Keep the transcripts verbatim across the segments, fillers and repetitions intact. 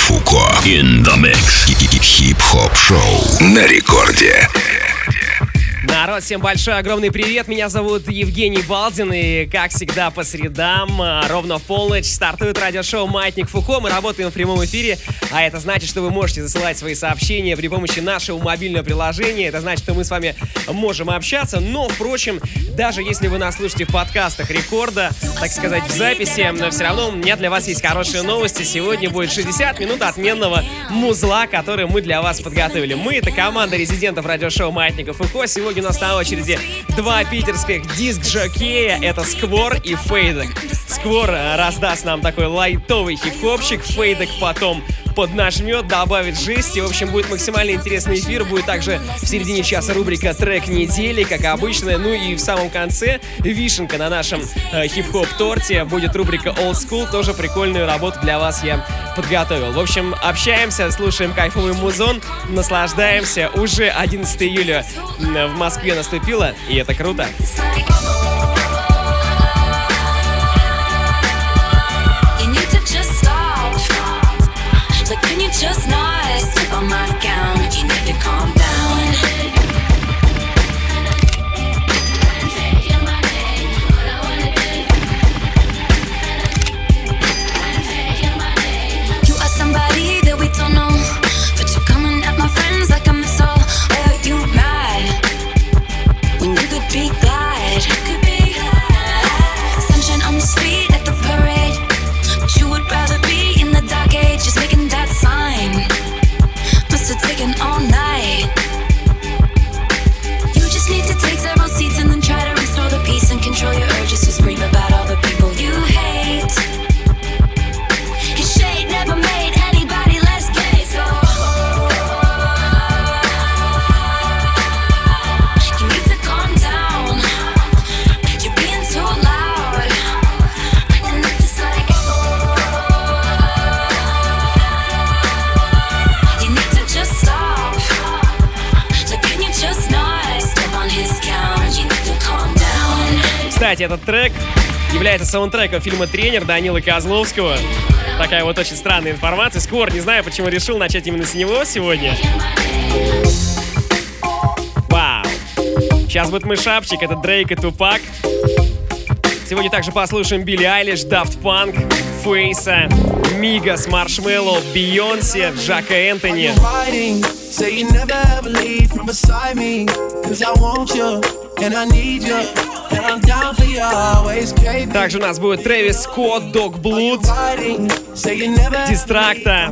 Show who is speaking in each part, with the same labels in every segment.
Speaker 1: Фуко. In the mix. Хип-хоп шоу на рекорде.
Speaker 2: Народ, всем большой, огромный привет. Меня зовут Евгений Балдин. И, как всегда, по средам, ровно в полночь, стартует радиошоу «Маятник Фуко». Мы работаем в прямом эфире, а это значит, что вы можете засылать свои сообщения при помощи нашего мобильного приложения. Это значит, что мы с вами можем общаться. Но, впрочем, даже если вы нас слушаете в подкастах рекорда, так сказать, в записи, но все равно у меня для вас есть хорошие новости. Сегодня будет шестьдесят минут отменного музла, который мы для вас подготовили. Мы — это команда резидентов радиошоу «Маятника Фуко». Сегодня у нас на очереди два питерских диск-жокея. Это Сквор и Фейдек. Сквор раздаст нам такой лайтовый хип-хопчик, Фейдек потом поднажмет, добавит жести. В общем, будет максимально интересный эфир. Будет также в середине часа рубрика «Трек недели», как обычно. Ну и в самом конце вишенка на нашем э, хип-хоп-торте. Будет рубрика «Old School». Тоже прикольную работу для вас я подготовил. В общем, общаемся, слушаем кайфовый музон, наслаждаемся. Уже одиннадцатого июля в Москве наступило, и это круто.
Speaker 3: Just not step on my gown. You need to calm down. Say my name, all I wanna do. Say my name. You are somebody that we don't know, but you're coming at my friends like a missile. Why are you mad when you could be glad? You could be glad. Sunshine on the street at the parade, but you would rather be in the dark age, just making that sign. Must have taken all night. You just need to take several seats and then try to restore the peace and control your urges to scream about all the people you hate. His shade never made anybody less gay, so you need to calm down. You're being too loud, and it's just like
Speaker 2: Кстати, этот трек является саундтреком фильма «Тренер» Данилы Козловского. Такая вот очень странная информация. Сквор, не знаю, почему решил начать именно с него сегодня. Вау. Сейчас будет мышапчик, это Дрейк и Тупак. Сегодня также послушаем Билли Айлиш, Daft Punk, Фейса, Мигас, Маршмеллоу, Бейонсе, Джака Энтони. Также у нас будет Трэвис Скотт, Dog Blood, Дистракта.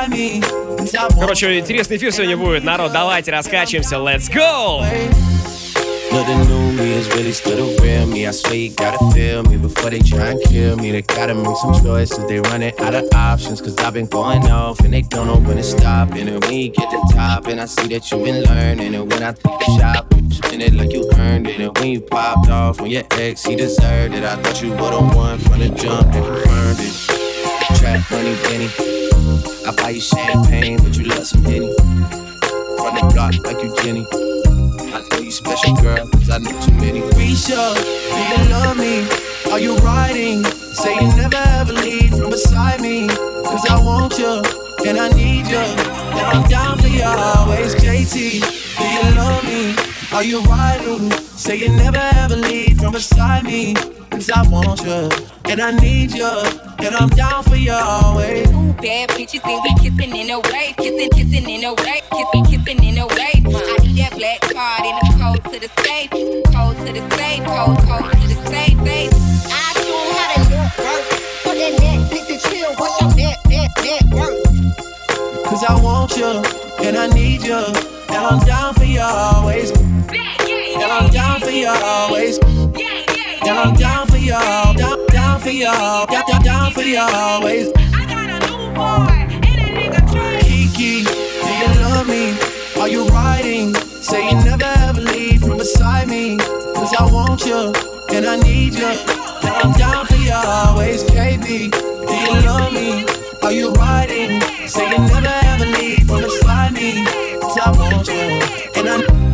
Speaker 2: Короче, интересный эфир сегодня будет. Народ, давайте раскачиваемся. Let's go!
Speaker 4: Look, the new me is really still the real me. I swear you gotta feel me before they try and kill me. They gotta make some choices, they running out of options. Cause I've been going off and they don't know when to stop. And when you get to the top, and I see that you've been learning. And when I take the shot, you spin it like you earned it. And when you popped off on your ex, he deserved it. I thought you were the one from the jump that confirmed it. Trap money, Benny. I buy you champagne, but you love some Henny. From the block like you Jenny. I know you special, girl, cause I know too many. Risha, do you love me? Are you riding? Say you never ever leave from beside me. Cause I want you, and I need you. And I'm down for you always. J T, do you love me? Are you riding? Say you never ever leave from beside me. Cause I want you, and I need you. And I'm down for you always.
Speaker 3: Two bad bitches and we kissing in a wave. Kissing, kissing in a wave. Kissing, kissing in a wave. I need that black card in the code to the safe. Code to the safe. Code, code to the safe. Safe.
Speaker 5: I don't know how to look work. Put that Netflix and chill. What's your net, net, net worth?
Speaker 4: Cause I want you, and I need you. And I'm down for you always. And I'm down for you always. And I'm down for you, down, down for you, down, down, down for you always.
Speaker 3: I got a new boy and a nigga train.
Speaker 4: Kiki, do you love me? Are you riding? Say you never ever leave from beside me. Cause I want you, and I need you. And I'm down for you always. K B, do you love me? Are you riding? Say you never ever leave from beside me. Cause I want you, and I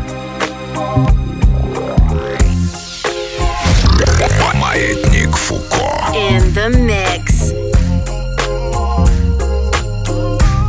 Speaker 1: Маятник Фуко.
Speaker 3: In the mix.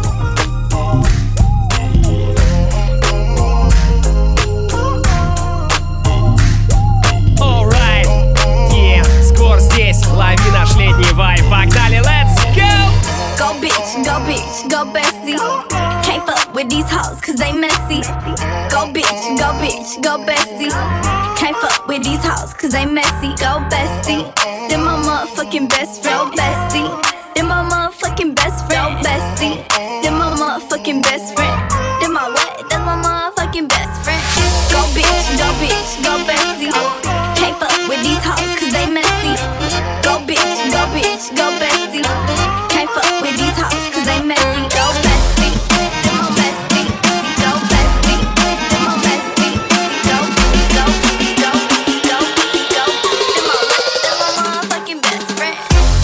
Speaker 3: go bestie. Can't fuck with these hoes cause they messy. Go bitch, go bitch, go bestie. Can't fuck with these hoes cause they messy. Go bestie. Then my motherfucking best friend. Go bestie. Then my motherfucking best friend. Go bestie. Then my motherfucking best friend. Then my what? That's my motherfucking best friend. Go bitch, go bitch, go bestie. Can't fuck with these hoes cause they messy. Go bitch, go bitch, go bestie. Can't fuck with these hoes cause they messy. Go bestie. Then my bestie. Go bestie. Then my bestie. Go, go, go, go, go. Then my what? That's my motherfucking best friend.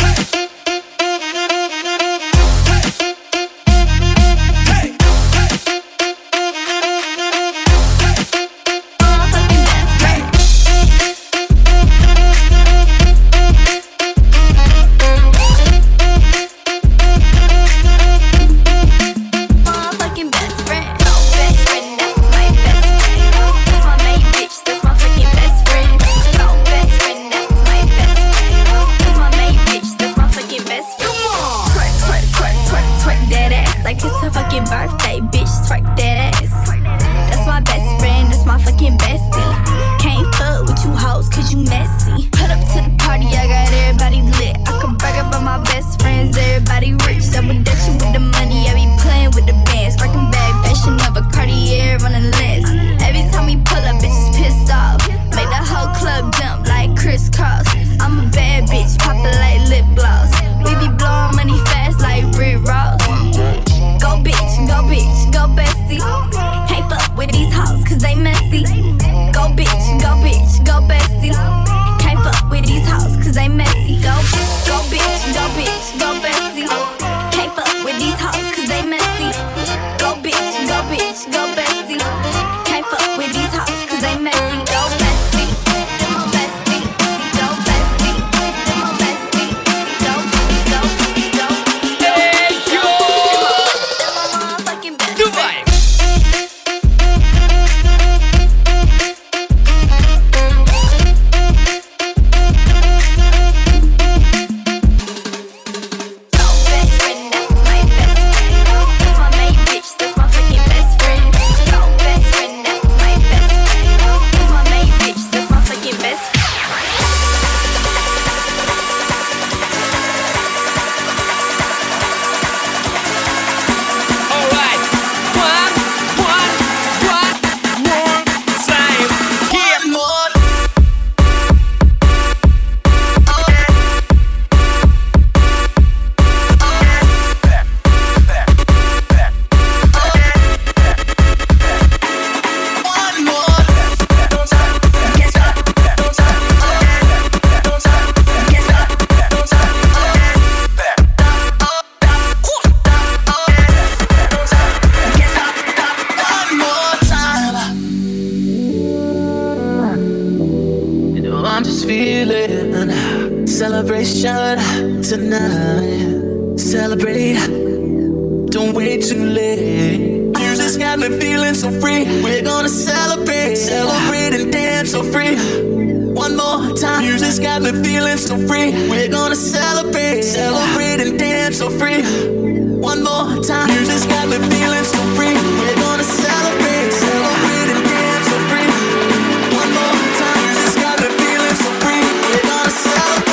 Speaker 6: Celebration tonight. Celebrate. Don't wait too late. Music's got me feeling so free. We're gonna celebrate. Celebrate and dance so free. One more time. Music's got me feeling so free. We're gonna celebrate. Celebrate and dance so free. One more time. Music's got me feeling so free. We're gonna celebrate. Celebrate and dance so free. One more time. Music's got me feeling so free. We're gonna celebrate.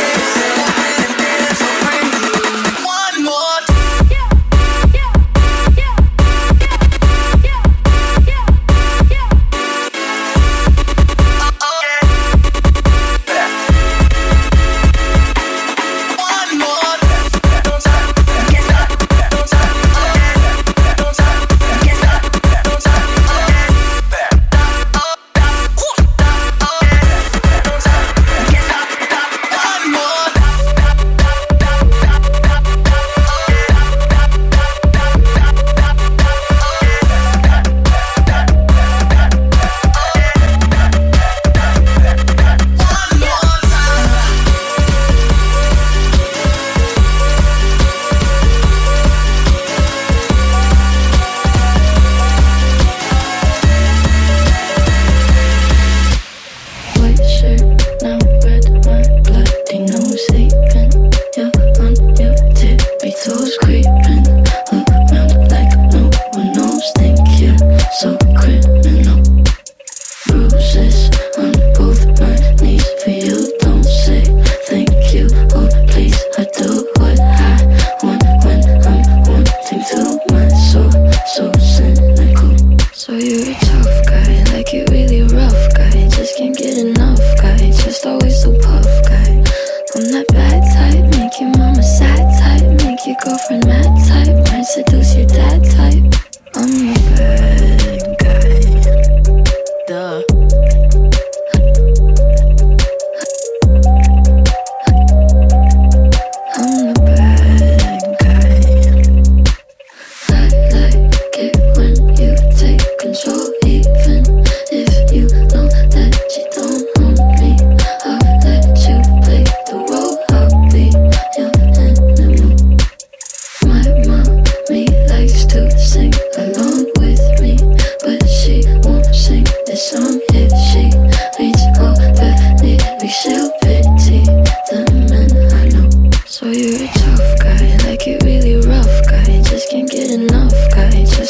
Speaker 7: Toes creeping around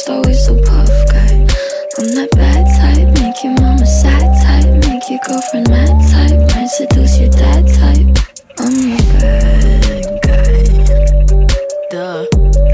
Speaker 3: just always so puff guy. I'm that bad type, make your mama sad type, make your girlfriend mad type, might seduce your dad type. I'm the bad guy. Duh.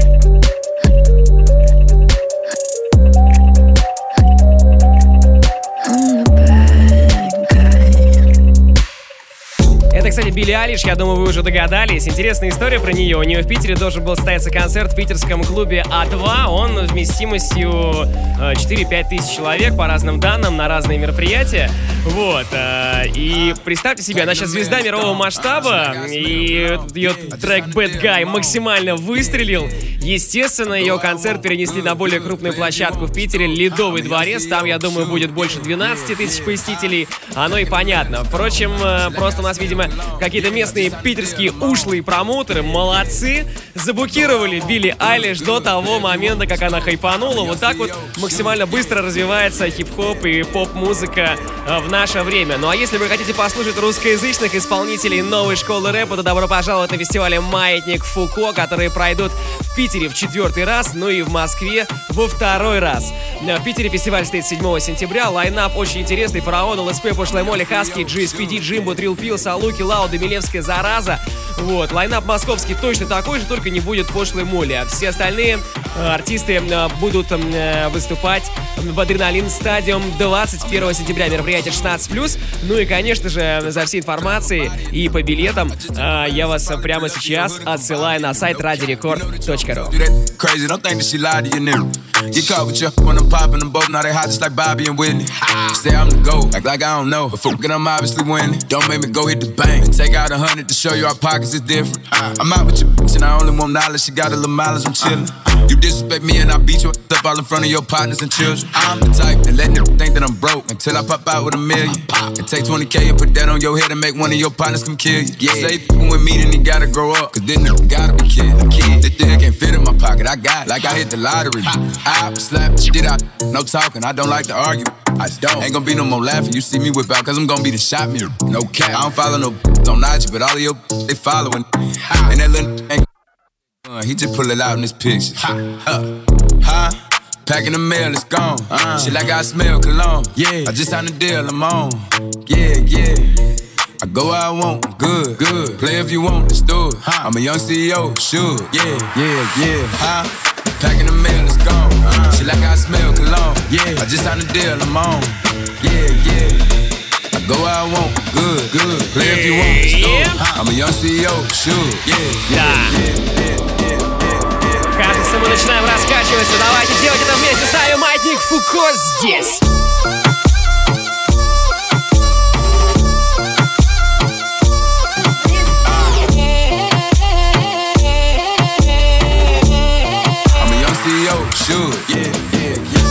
Speaker 2: Это, кстати, Билли Айлиш, я думаю, вы уже догадались. Интересная история про нее. У нее в Питере должен был состояться концерт в питерском клубе А два. Он вместимостью четыре-пять тысяч человек, по разным данным, на разные мероприятия. Вот. И представьте себе, она сейчас звезда мирового масштаба, и ее трек Bad Guy максимально выстрелил. Естественно, ее концерт перенесли на более крупную площадку в Питере, Ледовый дворец. Там, я думаю, будет больше двенадцати тысяч посетителей. Оно и понятно. Впрочем, просто у нас, видимо, какие-то местные питерские ушлые промоутеры, молодцы, забукировали Билли Айлиш до того момента, как она хайпанула. Вот так вот максимально быстро развивается хип-хоп и поп-музыка в наше время. Ну а если вы хотите послушать русскоязычных исполнителей новой школы рэпа, то добро пожаловать на фестивале «Маятник Фуко», которые пройдут в Питере в четвертый раз, ну и в Москве во второй раз. В Питере фестиваль стоит седьмого сентября, лайнап очень интересный: Фараон, ЛСП, Пошлая Молли, Хаски, джи эс пи ди, Джимбо, Трил Пил, Салуки, Лауда, Милевская, Зараза. Вот, лайнап московский точно такой же, только не будет Пошлой Молли. А все остальные э, артисты э, будут э, выступать в Адреналин Стадиум двадцать первого сентября. Мероприятие шестнадцать плюс. Ну и, конечно же, за всей информацией и по билетам э, я вас прямо сейчас отсылаю на сайт радио рекорд точка ру.
Speaker 7: Get caught with you when I'm popping them both. Now they hot just like Bobby and Whitney. Say I'm the GOAT, act like I don't know. But fuck it, I'm obviously winning. Don't make me go hit the bank and take out a hundred to show you our pockets is different. I'm out with your bitch and I only want knowledge. She got a little mileage, I'm chillin'. You disrespect me and I beat you up all in front of your partners and children. I'm the type that let them think that I'm broke until I pop out with a million. And take twenty K and put that on your head and make one of your partners come kill you. Yeah. Say f***ing with me, then he gotta grow up, cause then he gotta be kid. Kid. This thing can't fit in my pocket, I got it, like I hit the lottery. I slap the shit out, no talking, I don't like to argue. I don't. Ain't gonna be no more laughing, you see me whip out, cause I'm gonna be the shot mirror. No cap, I don't follow no on I G, but all of your they following. And that little ain't uh, he just pull it out in this picture. Huh? Huh? Packing the mail, it's gone. Uh, shit like I smell cologne. Yeah. I just signed a deal, I'm on. Yeah, yeah. I go where I want, good, good. Play if you want, let's do it. Huh? I'm a young C E O, sure. Yeah, yeah, yeah. Huh? Packing the mail, it's gone. Uh, shit like I smell cologne. Yeah. I just signed a deal, I'm on. Yeah, yeah. I go where I want, good, good. Play if you want, let's do it. Huh? I'm a young C E O, sure. Yeah, yeah, yeah, yeah.
Speaker 2: Кажется, мы начинаем раскачиваться. Давайте делать это вместе с нами. Маятник Фуко здесь.
Speaker 7: I'm a young C E O, sure. Yeah, yeah, yeah.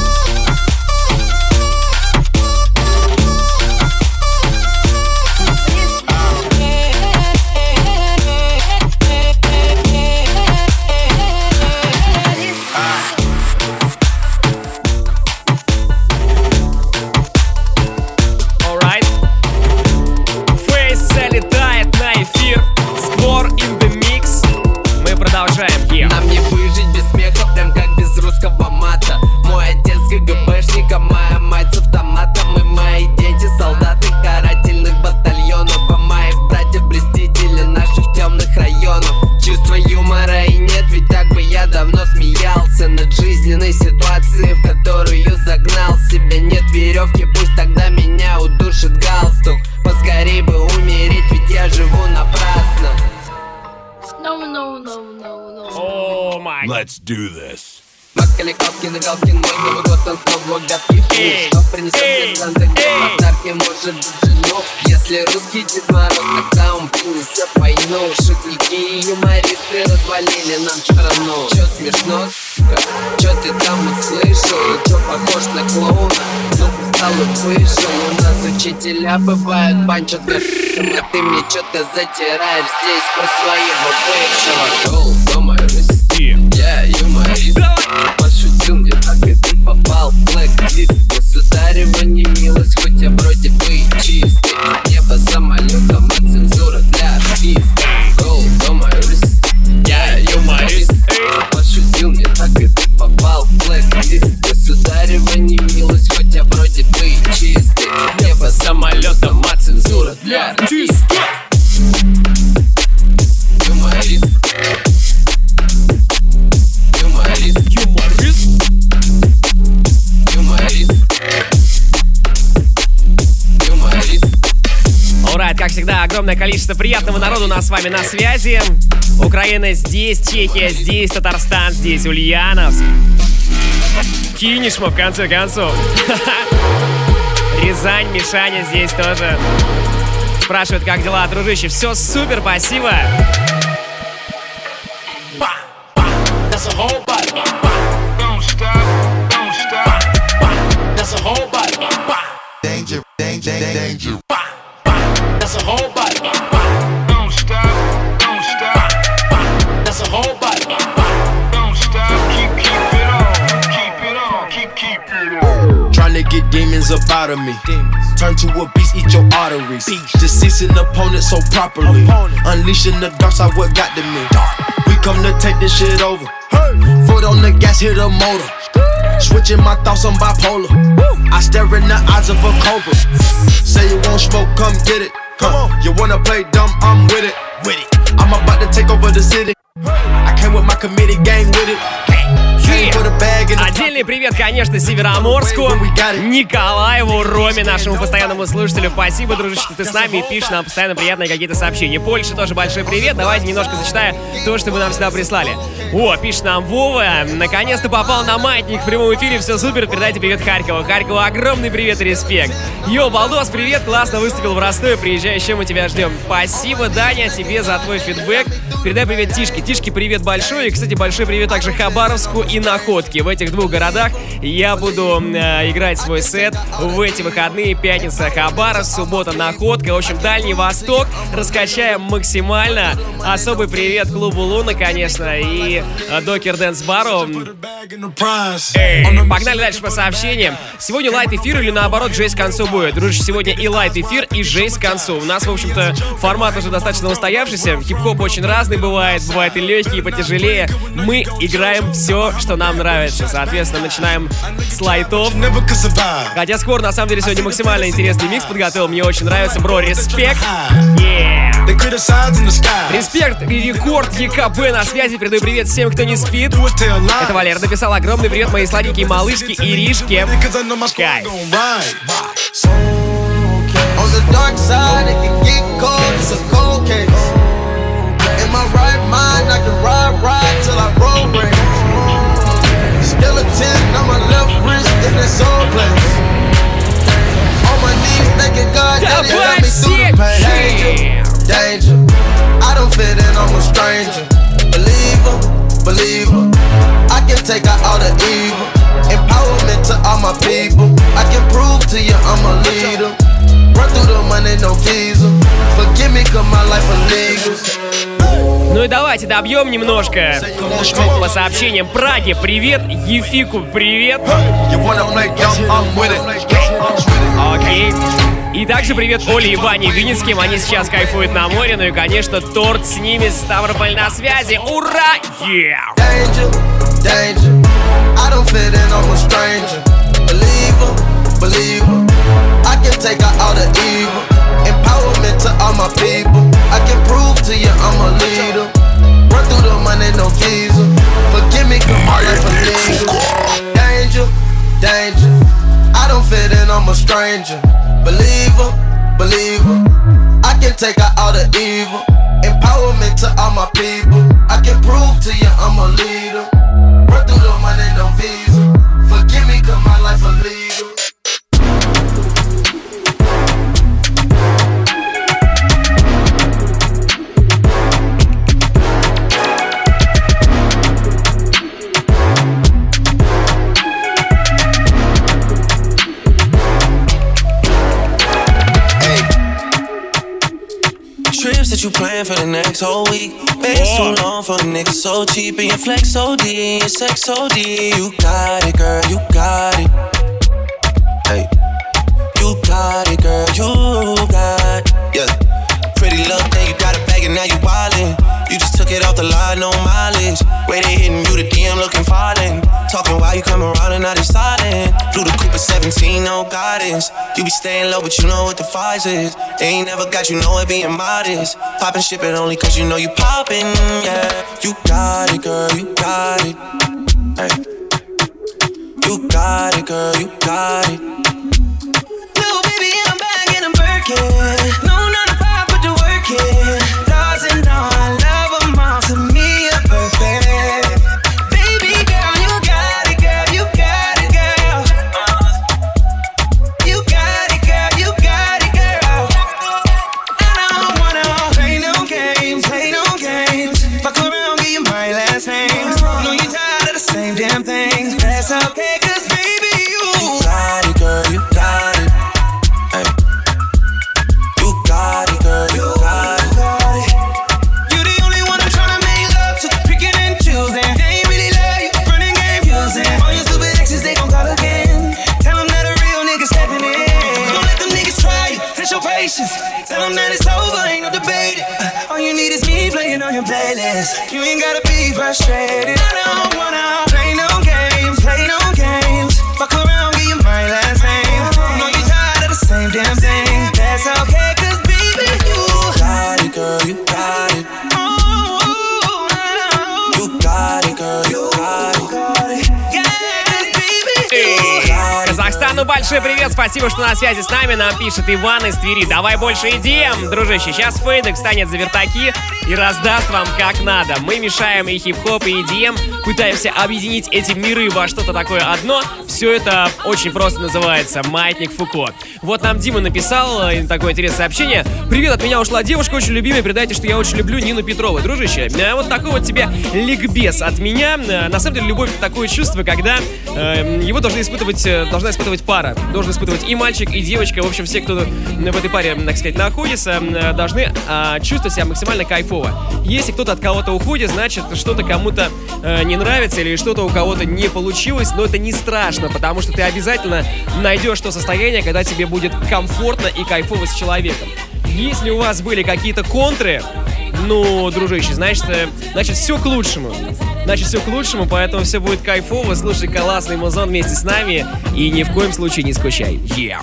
Speaker 8: Нам не выжить без смеха, прям как без русского мата. Мой отец КГБшник, а моя мать с автоматом. И мои дети солдаты карательных батальонов, а моих братьев блестители наших темных районов. Чувства юмора и нет, ведь так бы я давно смеялся над жизненной ситуацией, в которую загнал себя. Нет веревки, пусть тогда меня удушит галстук. Поскорей бы умереть, ведь я живу напрасно.
Speaker 3: No, no, no, no, no.
Speaker 2: О май.
Speaker 1: Let's do this.
Speaker 8: Макали, Копкин и Галкин, мой Новый год, он снова гадкий. Что принесет мне Санта, подарки, может быть, жену. Если русский Дед Мороз, тогда он принесет войну. Шутники и юмористы развалили нам страну. Чё смешно, сука? Чё ты там услышал? Чё похож на клоуна? Ну, стал и вышел. У нас учителя бывают банчат гашиком, а ты мне чё-то затираешь здесь про своего бывшего. Гол, дома, Россия, я юморист. Пошутил мне так, и ты попал в блэк-лист. Государева не милость, хоть я вроде бы и чистый. Небо самолетом, а цензура для артиста. Гол, дома, Россия, я юморист. Пошутил мне так, и ты попал в блэк-лист.
Speaker 2: огромное количество приятного народу у нас с вами на связи. Украина здесь, Чехия здесь, Татарстан здесь, Ульяновск. Кинешма, в конце концов. Рязань, Мишаня здесь тоже. Спрашивают, как дела, дружище. Все супер, спасибо.
Speaker 9: Danger, danger, danger. That's a whole body. Don't stop, don't stop. That's a whole body. Don't stop, keep, keep it on, keep it on, keep, keep it on.
Speaker 10: Trying to get demons up out of me. Turn to a beast, eat your arteries. Deceasing opponents so properly. Unleashing the dark side, what got to me. We come to take this shit over. Foot on the gas, hit a motor. Switching my thoughts, I'm bipolar. I stare in the eyes of a cobra. Say you won't smoke, come get it. Huh. You wanna play dumb, I'm with it. With it. I'm about to take over the city. I came with my committee gang with it.
Speaker 2: Отдельный привет, конечно, Североморску, Николаеву, Роме, нашему постоянному слушателю. Спасибо, дружище, что ты с нами и пишешь нам постоянно приятные какие-то сообщения. Польше тоже большой привет. Давайте немножко зачитаю то, что вы нам сюда прислали. О, пишет нам Вова. Наконец-то попал на маятник в прямом эфире. Все супер. Передайте привет Харькову. Харькову огромный привет и респект. Йо, Балдос, привет. Классно выступил в Ростове. Приезжай, еще мы тебя ждем. Спасибо, Даня, тебе за твой фидбэк. Передай привет Тишке. Тишке привет большой. И, кстати, большой привет также Хабаровску и Находке. В этих двух городах я буду э, играть свой сет в эти выходные. Пятница Хабаровск, суббота Находка. В общем, Дальний Восток раскачаем максимально. Особый привет клубу Луна, конечно, и э, Докер Дэнс Бару. Эй, погнали дальше по сообщениям. Сегодня лайт эфир или наоборот жесть к концу будет? Дружище, сегодня и лайт эфир, и жесть к концу. У нас, в общем-то, формат уже достаточно устоявшийся. Хип-хоп очень разный бывает. Бывает и легкий, и потяжелее. Мы играем все, что нам нравится. Соответственно, начинаем с лайтов. Хотя скоро, на самом деле, сегодня максимально интересный микс подготовил. Мне очень нравится, бро, респект. Yeah. Респект и рекорд ЕКБ на связи. Передаю привет всем, кто не спит. Это Валера написал. Огромный привет моей сладенькой малышке Иришке. Кайф.
Speaker 11: Skeleton on my left wrist in the soul place. On my knees, thanking God that He got me through the pain. Danger, danger. I don't fit in, I'm a stranger. Believer, believer. I can take out all the evil. Empowerment to all my people. I can prove to you I'm a leader. Run through the money, no visa. Forgive me, cause my life illegal.
Speaker 2: Ну и давайте добьем немножко по сообщениям. Праге привет, Ефику привет. Окей. И также привет Оле и Ване Винницким. Они сейчас кайфуют на море. Ну и, конечно, торт с ними. Ставрополь на связи. Ура! Yeah!
Speaker 11: Danger, danger. I don't fit in, I'm a stranger. Believer, believer. I can take out all the evil. Empowerment to all my people. I can prove to you I'm a leader. Run through the money, no visa. Forgive me, cause my life illegal. Danger, danger. I don't fit in, I'm a stranger. Believer, believer. I can take out all the evil. Empowerment to all my people. I can prove to you I'm a leader. Run through the money, no visa. Forgive me, cause my life illegal.
Speaker 6: That you plan for the next whole week. Been so long for the niggas so cheap. And your flex O D, your sex O D. You got it, girl, you got it. Hey, you got it, girl, you got it. Yeah, pretty little thing, you got a bag and now you wildin'. You just took it off the line, no mileage. Way they hitting you, the D M looking falling. Talking while you come around and now they silent. Flew the Cooper seventeen, no guidance. You be staying low, but you know what the fight is. They ain't never got you, know it being modest. Poppin' shit, but only cause you know you poppin', yeah. You got it, girl, you got it. Hey. You got it, girl, you got it. Little baby, I'm back in a Birkin. No, not a five, put the work
Speaker 12: in playlist. You ain't gotta be frustrated. I don't wanna play no games, play no games. Fuck around, get you my last name. Know you tired of the same damn thing. That's okay, cause baby, you got it, girl, you got it. You got it, girl, you got it. Yeah, baby, you got it.
Speaker 2: Казахстану большой привет, спасибо, что на связи с нами. Нам пишет Иван из Твери. Давай больше идеям, дружище. Сейчас Фейдек станет за вертаки и раздаст вам как надо. Мы мешаем и хип-хоп, и и ди эм, пытаемся объединить эти миры во что-то такое одно. Все это очень просто называется «Маятник Фуко». Вот нам Дима написал такое интересное сообщение. Привет, от меня ушла девушка, очень любимая. Передайте, что я очень люблю Нину Петрову. Дружище, вот такой вот тебе ликбез от меня. На самом деле, любовь — это такое чувство, когда э, его должны испытывать, должна испытывать пара. Должен испытывать и мальчик, и девочка. В общем, все, кто в этой паре, так сказать, находится, должны э, чувствовать себя максимально кайфово. Если кто-то от кого-то уходит, значит, что-то кому-то э, не нравится или что-то у кого-то не получилось. Но это не страшно, потому что ты обязательно найдешь то состояние, когда тебе будет комфортно и кайфово с человеком. Если у вас были какие-то контры, ну, дружище, значит, значит все к лучшему. Значит, все к лучшему, поэтому все будет кайфово. Слушай классный музон вместе с нами и ни в коем случае не скучай. Yeah.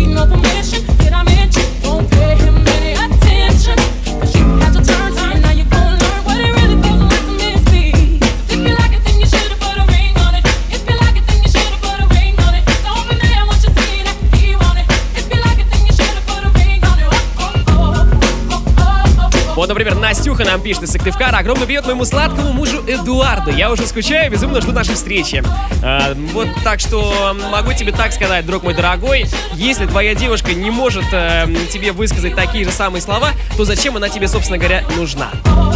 Speaker 2: Вот, например, Настюха нам пишет из Сыктывкара. Огромный привет моему сладкому мужу Эдуарду. Я уже скучаю, безумно жду нашей встречи. А, вот так что могу тебе так сказать, друг мой дорогой. Если твоя девушка не может а, тебе высказать такие же самые слова, то зачем она тебе, собственно говоря, нужна?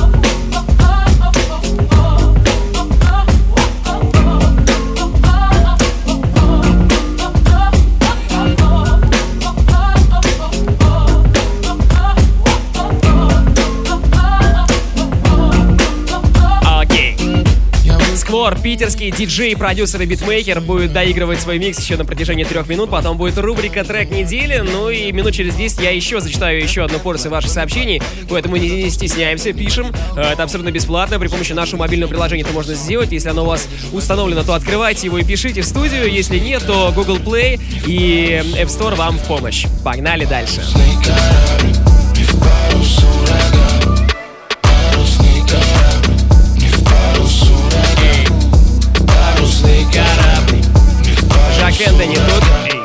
Speaker 2: Питерский диджей, продюсер и битмейкер будет доигрывать свой микс еще на протяжении трех минут. Потом будет рубрика «Трек недели». Ну и минут через десять я еще зачитаю еще одну порцию ваших сообщений. Поэтому не, не стесняемся, пишем. Это абсолютно бесплатно. При помощи нашего мобильного приложения это можно сделать. Если оно у вас установлено, то открывайте его и пишите в студию. Если нет, то Google Play и App Store вам в помощь. Погнали дальше. Жак Энтони тут. Эй.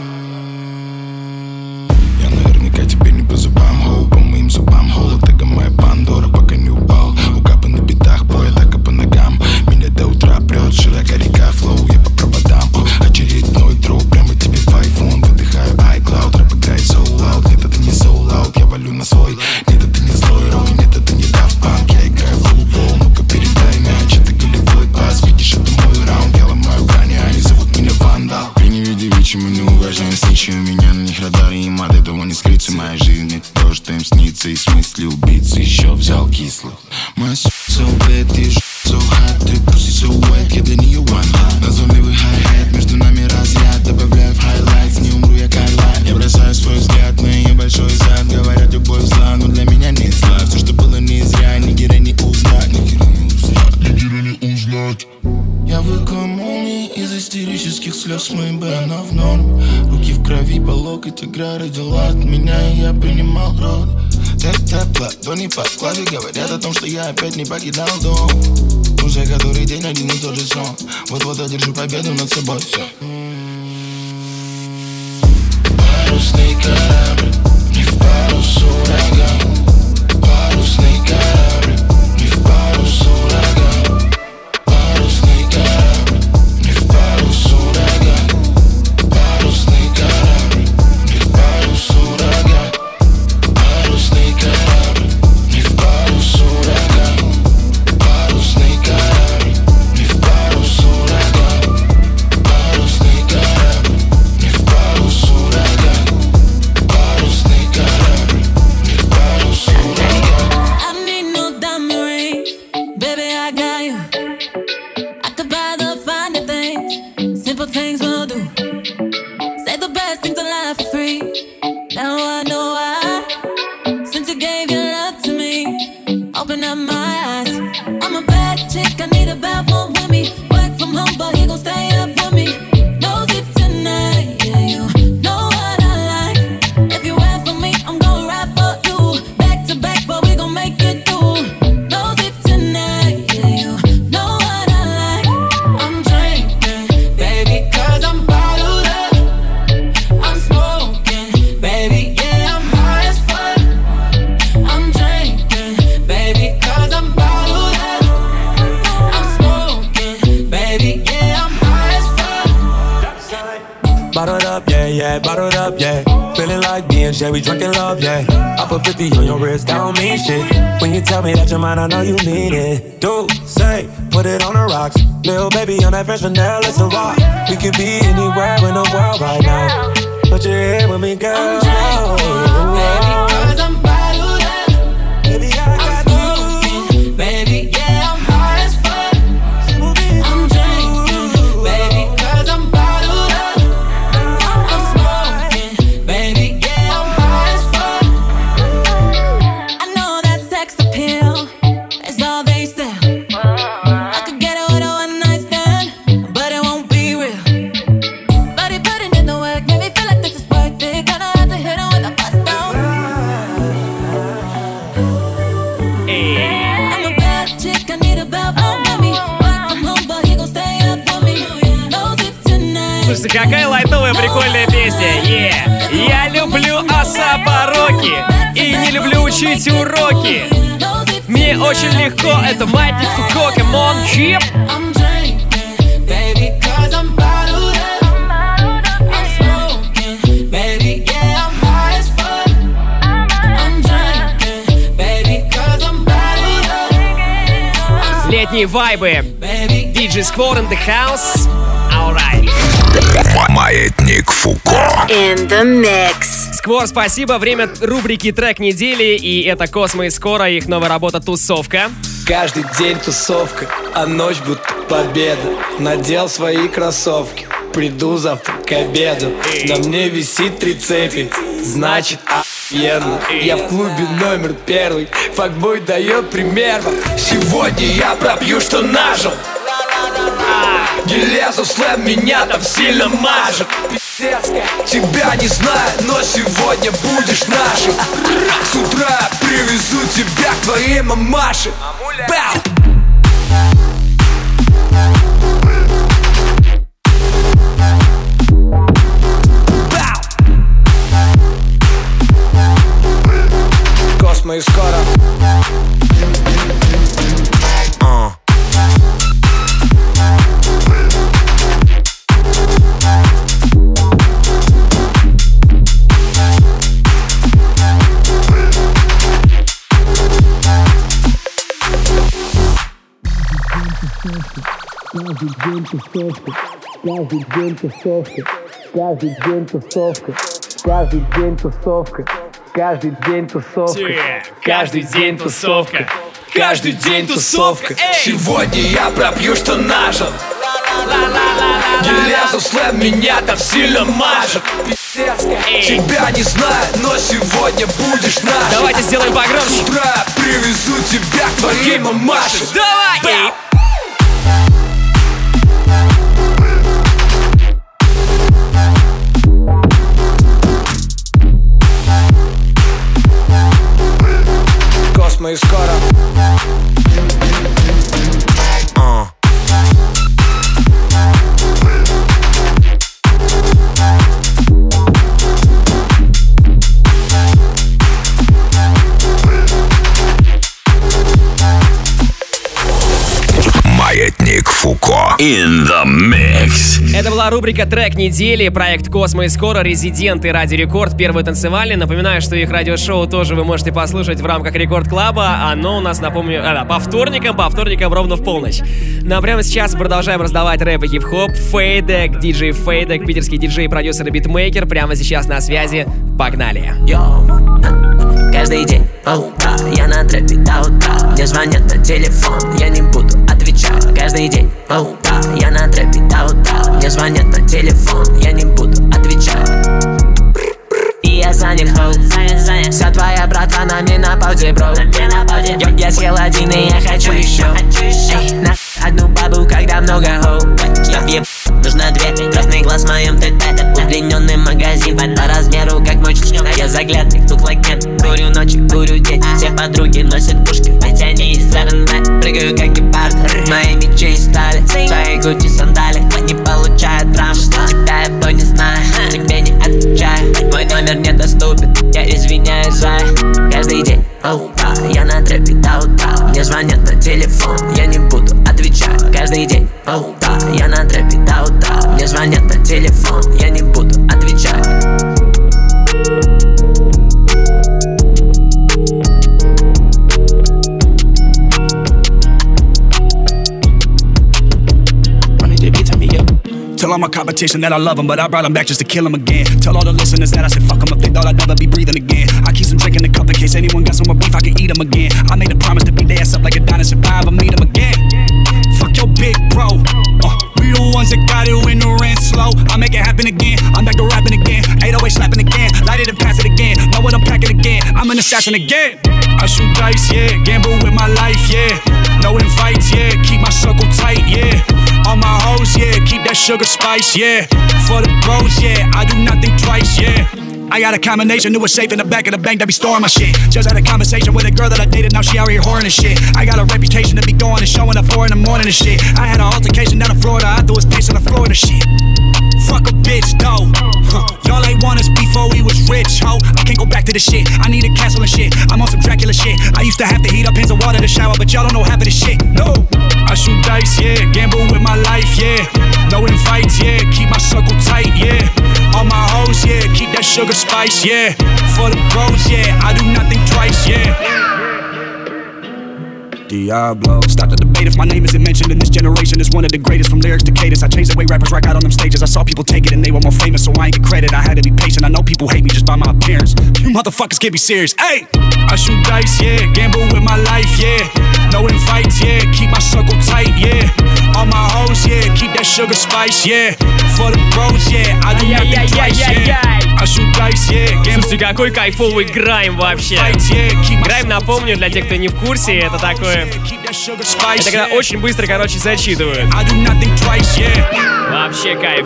Speaker 13: Я наверняка тебе не по зубам, хоу, по моим зубам, холод, это моя Пандора, пока не упал. Укапы на битах, бой, атака по ногам. Меня до утра прет, широка река, флоу, я по проводам. Очередной дроп, прямо тебе в айфон. Выдыхаю iCloud, рэп играет so loud. Нет, это не so loud, я валю на свой. Нет, это не злой рок, нет, это не Daft Punk. Я играю в футбол, ну-ка передай мяч. Это голевой пас, видишь, это мой раунд. Я ломаю грани, они зовут меня Вандал. При невиде вичи мы не уважаем сничи. У меня на них радары и мат, этого не скрыться. Моя жизнь это то, что им снится. И в смысле убийцы еще взял кислых. My so bad, ты ж so hot. Ты pussy so wet, я для нее one hot. Назойливый хай-хет, между нами разряд. Добавляю в хайлайтс, не умру я Кайлайт. Я бросаю свой взгляд на ее большой зад. Говорят, любовь зла, но для меня не зла. Все, что было не зря, ни героя не узнать. Ни героя не узнать, ни героя не узнать. Я выкую молнии из истерических слез. Мои бэна в норме. Руки в крови, по локоть игра родила от меня, и я принимал род. Тэп-тэп, ладони по складе говорят о том, что я опять не покидал дом. Уже который день один и тот же сон. Вот-вот одержу победу над собой, все. Парусный корабль, не в парус ураган. Парусный корабль, не в парус ураган. Парусный корабль, не в парус ураган. Парусный корабль, не в парус ураган. Парусный корабль, не в парус ураган. Парусный корабль, не в парус ураган. Парусный корабль, не в парус ураган.
Speaker 14: up, yeah, yeah, bottled up, yeah. Feeling like being Jay, we drunk in love, yeah. I put fifty on your wrist, that don't mean shit. When you tell me that you're mine, I know you mean it. Do, say, put it on the rocks. Lil' baby on that French vanilla, it's a rock. We could be anywhere in the world right now. But you're here with me, girl.
Speaker 6: I'm drunk, baby, cause I'm bottled up. Baby, I got I'm smoking, baby, yeah, I'm high as fuck. I'm drinking, baby, cause I'm bottled up. I'm smoking, baby, yeah, I'm high as fuck. I know that sex appeal is all they sell. I could get it with a one night stand, but it won't be real. But he put it in the work, made me feel like this is worth it. Gonna have to hit him with a bust down. I'm a bad chick, I need a belt on me. Work from home, but he gon' stay up for me. Knows it tonight.
Speaker 2: Слушайте, какая лайтовая прикольная песня. Yeah. Я люблю Асапа Роки и не люблю учить уроки. Мне очень легко, это Маятник Фуко, come on, chip.
Speaker 6: I'm drinking, baby, cause I'm bottled up. I'm smoking, baby, yeah, I'm high as fuck. I'm drinking, baby, cause I'm bottled up.
Speaker 2: Летние вайбы. ди джей Squad in the house. Alright.
Speaker 1: Маятник Фуко.
Speaker 15: In the mix.
Speaker 2: Сквор, спасибо. Время рубрики «Трек недели», и это Космо и Скоро, их новая работа «Тусовка».
Speaker 16: Каждый день тусовка, а ночь будто победа. Надел свои кроссовки, приду завтра к обеду. На мне висит три цепи, значит охуенно. Я в клубе номер первый, факбой дает пример. Сегодня я пропью, что нажил. Не лезу, слэм меня там сильно мажет. Тебя не знаю, но сегодня будешь нашим. С утра привезу тебя к твоей мамаше. Бау! Космо и Скоро.
Speaker 17: Каждый день тусовка, каждый день тусовка, каждый день тусовка, каждый день тусовка, каждый день тусовка,
Speaker 2: каждый день тусовка,
Speaker 16: каждый день тусовка. Сегодня я пропью, что нажил. Не лезу, слэм меня там сильно мажет. Тебя не знаю, но сегодня будешь наш.
Speaker 2: Давайте сделаем погромче.
Speaker 16: С утра привезу тебя к твоей мамаше.
Speaker 2: Давай!
Speaker 16: Космо и Скоро.
Speaker 1: Маятник Фуко. In the mix.
Speaker 2: Это была рубрика «Трек недели», проект «Космо и Скоро», резиденты Радио Рекорд, первый танцевальный. Напоминаю, что их радиошоу тоже вы можете послушать в рамках Рекорд Клаба. Оно у нас, напомню, а, да, по вторникам, по вторникам ровно в полночь. Ну а прямо сейчас продолжаем раздавать рэп и хип-хоп. Фейдек, диджей Фейдек, питерский диджей, продюсер и битмейкер. Прямо сейчас на связи. Погнали!
Speaker 18: Каждый день по утрам я на трэпе до утра. Мне звонят на телефон, я не буду отвечать. Каждый день по утрам я на трэпе до утра. Мне звонят на телефон, я не буду отвечать. И я занят, хоу, занят, занят. Вся твоя братва на мне на паузе, бро. Я, я съел один и я хочу еще. Эй, на одну бабу, когда много хоу. Я еб, нужно две. Красный глаз в моем ТТ. Удлиненный магазин по размеру, как мой член. Я заглядный, look like нет. Курю ночью, курю день. Все подруги носят пушки, ведь они из РНБ. Прыгаю как гепард, мои мечи из стали. Свои гучи сандали, не получают травм. Тебя я то не знаю, тебе не отвечаю. Мой номер недоступен, я извиняюсь за. Каждый день по утрам я на трэпе до утра. Мне звонят на телефон, я не буду отвечать. Каждый день по утрам я на трэпе до утра. Мне звонят на телефон, я не буду отвечать.
Speaker 19: Tell all my competition that I love them, but I brought them back just to kill them again. Tell all the listeners that I said fuck them if they thought I'd never be breathing again. I keep some drink in the cup in case anyone got some more beef, I can eat them again. I made a promise to be there, up like a dinosaur, if I ever meet them again. Fuck your big bro. Uh, we the ones that got it when the rent's slow. I make it happen again. I'm back to rapping again. eight oh eight slapping again. Light it and pass it again. Know what I'm packing again. I'm an assassin again. I shoot dice, yeah. Gamble with my life, yeah. No invites, yeah. Keep my circle tight, yeah. All my hoes, yeah. Keep that sugar spice, yeah. For the bros, yeah. I do nothing twice, yeah. I got a combination, knew a safe in the back of the bank that be storing my shit. Just had a conversation with a girl that I dated, now she out here whoring and shit. I got a reputation to be going and showing up four in the morning and shit. I had an altercation down in Florida, I threw his face on the floor and shit. Fuck a bitch, though. Huh. Y'all ain't want us before we was rich, ho. I can't go back to the shit, I need a castle and shit. I'm on some Dracula shit. I used to have to heat up pins of water to shower, but y'all don't know half of this shit, no. I shoot dice, yeah. Gamble with my life, yeah. No invites, yeah. Keep my circle tight, yeah. All my hoes, yeah. Keep that sugar spice, yeah. For the bros, yeah. I do nothing twice, yeah. Diablo. Stop the debate if my name isn't mentioned in this generation. It's one of the greatest from lyrics to cadence. I changed the way rappers rock out on them stages. I saw people take it and they were more famous, so I ain't get credit. I had to be patient. I know people hate me just by my appearance. You motherfuckers can't be serious. Hey, I shoot dice, yeah. Gamble with my life, yeah. No invites, yeah. Keep my circle tight, yeah. All my hoes, yeah. Keep that sugar spice, yeah. For the bros, yeah. I do nothing twice, yeah. I shoot dice, yeah.
Speaker 2: Слушайте, какой кайфовый грайм вообще. Грайм, напомню, для тех, кто не в курсе, это такое... Это когда очень быстро, короче, зачитывают. Вообще кайф.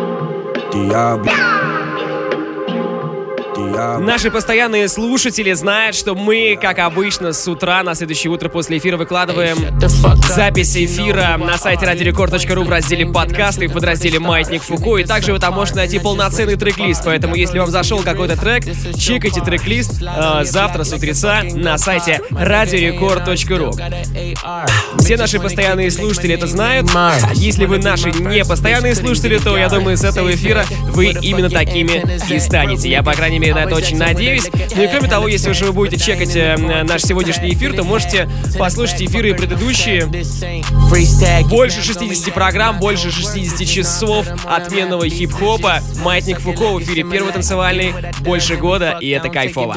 Speaker 2: Наши постоянные слушатели знают, что мы, как обычно, с утра на следующее утро после эфира выкладываем запись эфира на сайте радио рекорд точка ру в разделе подкасты в подразделе «Маятник Фуко». И также вы там можете найти полноценный трек-лист. Поэтому, если вам зашел какой-то трек, чекайте трек-лист э, завтра с утреца на сайте радио рекорд точка ру. Все наши постоянные слушатели это знают. Если вы наши непостоянные слушатели, то, я думаю, с этого эфира вы именно такими и станете. Я, по крайней мере, на это очень надеюсь. Ну и кроме того, если уж вы будете чекать э, наш сегодняшний эфир, то можете послушать эфиры предыдущие. Больше шестидесяти программ, больше шестидесяти часов отменного хип-хопа. Маятник Фуко в эфире первый танцевальный, больше года, и это кайфово.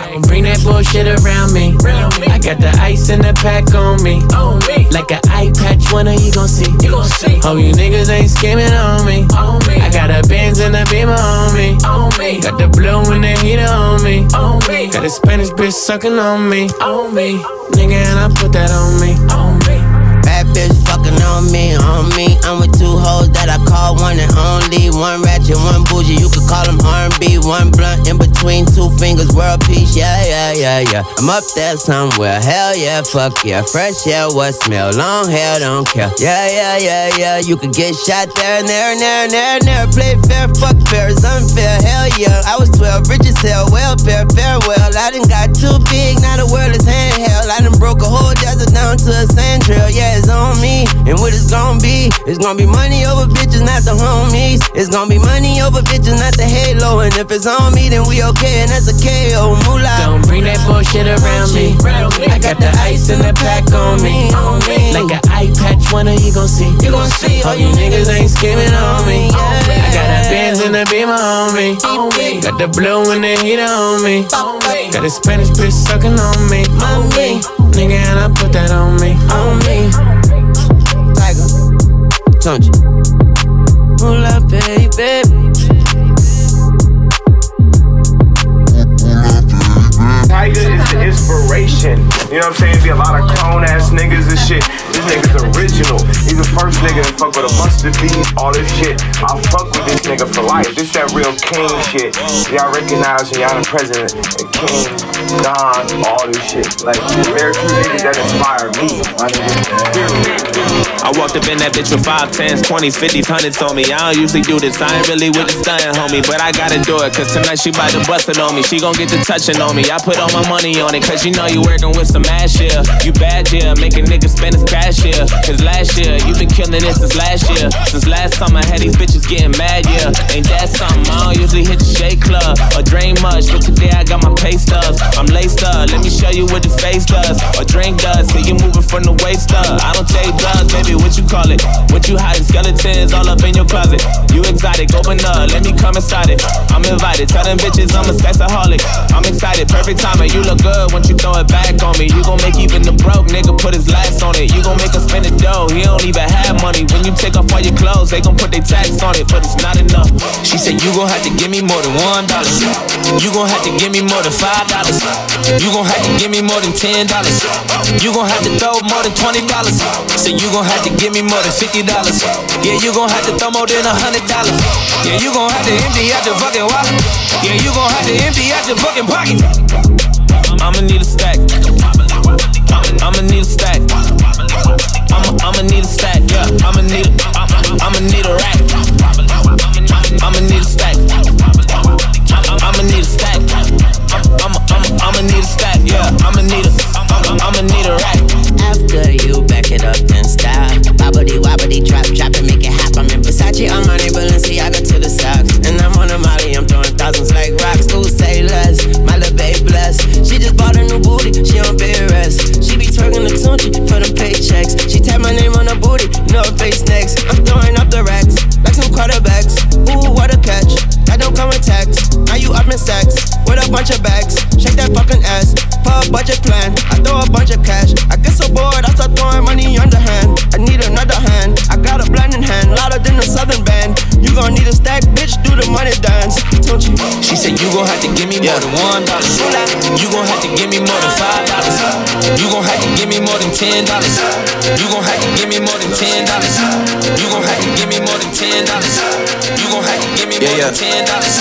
Speaker 20: On me, on me. Got a Spanish bitch sucking on me, on me. Nigga, and I put that on me, on me.
Speaker 21: Bad bitch fucking on me, on me. I'm with two hoes that I call one and only. One ratchet, one bougie, you could call them R and B. One blunt in between two fingers, world peace, yeah, yeah, yeah, yeah. I'm up there somewhere, hell yeah, fuck yeah. Fresh yeah, what smell, long hair, don't care. Yeah, yeah, yeah, yeah, you could get shot there and there and there and there and there. Play fair, fuck fair, it's unfair, hell yeah. I was twelve, rich as hell, welfare, farewell. I done got too big, now the world is handheld. I done broke a whole desert down to a sand trail, yeah, it's on me. And what it's gonna be, it's gonna be money over bitches, not the homies. It's gonna be money over bitches, not the halo. And if it's on me, then we okay, and that's a K O. Moolah.
Speaker 20: Don't bring that bullshit around me. I got the ice in the pack on me. Like an eye patch, one of you gon' see. You gon' see. All you niggas ain't skimming on me. I got a Benz and a Beamer on me. Got the blue and the heater on me. Got a Spanish bitch sucking on me. On me. Nigga, and I put that on me. On me.
Speaker 21: Tiger, don't you? Pull up, baby.
Speaker 22: Tiger is the inspiration. You know what I'm saying? Be a lot of clone ass niggas and shit. This nigga's original. He's the first nigga to fuck with a mustard beat, all this shit. I fuck with this nigga for life. This that real king shit. Y'all recognize when y'all the president and King, Don, all this shit. Like, there's very few niggas that inspire me. My nigga.
Speaker 23: I walked up in that bitch with five, tens, twenties, fifties, hundreds on me. I don't usually do this, I ain't really with the stunning, homie. But I gotta do it, cause tonight she bout to bust it on me. She gon' get the touching on me. I put all my money on it, cause you know you working with some ass, yeah. You bad, yeah, make a nigga spend his cash, yeah. Cause last year, you been killing it since last year. Since last summer, I had these bitches getting mad, yeah. Ain't that something? I don't usually hit the shake club or drain much, but today I got my pay stubs. I'm laced up, let me show you what the face does or drink does. See you moving from the waist up. I don't take drugs, baby, what you call it? What you hiding? Skeletons all up in your closet. You exotic, open up, let me come inside it. I'm invited, tell them bitches I'm a sexaholic. I'm excited, perfect timing, you look good once you throw it back on me. You gon' make even the broke nigga put his last on it. You gon' make us spend the dough, he don't even have money. When you take off all your clothes, they gon' put their tax on it, but it's not enough. She said you gon' have to give me more than one dollar. You gon' have to give me more than five dollars. You gon' have to give me more than ten dollars. You gon' have to throw more than twenty dollars. Say you gon' have to give me more than fifty dollars. Yeah, you gon' have to throw more than a hundred dollars. Yeah, you gon' have to empty out your fucking wallet. Yeah, you gon' have to empty out your fucking pocket. I'ma need a stack. I'ma need a stack. I'ma I'ma need a stack. Yeah, I'ma need a I'ma need a rack. I'ma need a stack. I'ma need a stack. I'ma I'ma I'ma need a stack. Yeah, I'ma need a I'ma need a rack.
Speaker 21: After you back it up then style. Bobbity wobbity drop drop and make it hop. I'm in Versace, Armani, Balenciaga to the socks. And I'm on a Molly, I'm throwing thousands like rocks. Who say less? My little babe blessed. She just bought a new booty, she on bed rest. She be twerking the Tunchi for them paychecks. She tap my name on her booty, you know her face next. I'm throwing up the racks, like some quarterbacks. Ooh, what a catch, that don't come with tax. Now you up in stacks, with a bunch of bags. Shake that fucking ass, for a budget plan. I throw a bunch of cash, I get so bored, I start throwing money underhand. I need another hand, I got a blending hand, louder than the Southern band. You gon' need a stack, bitch, do the money dance. Don't you?
Speaker 23: She said you gon' have to give me more than one dollar. You gon' have to give me more than five dollars. You gon' have to give me more than ten dollars. You gon' have to give me more than ten dollars. You gon' have to give me more than ten dollars. You gon' have to give me more than ten dollars.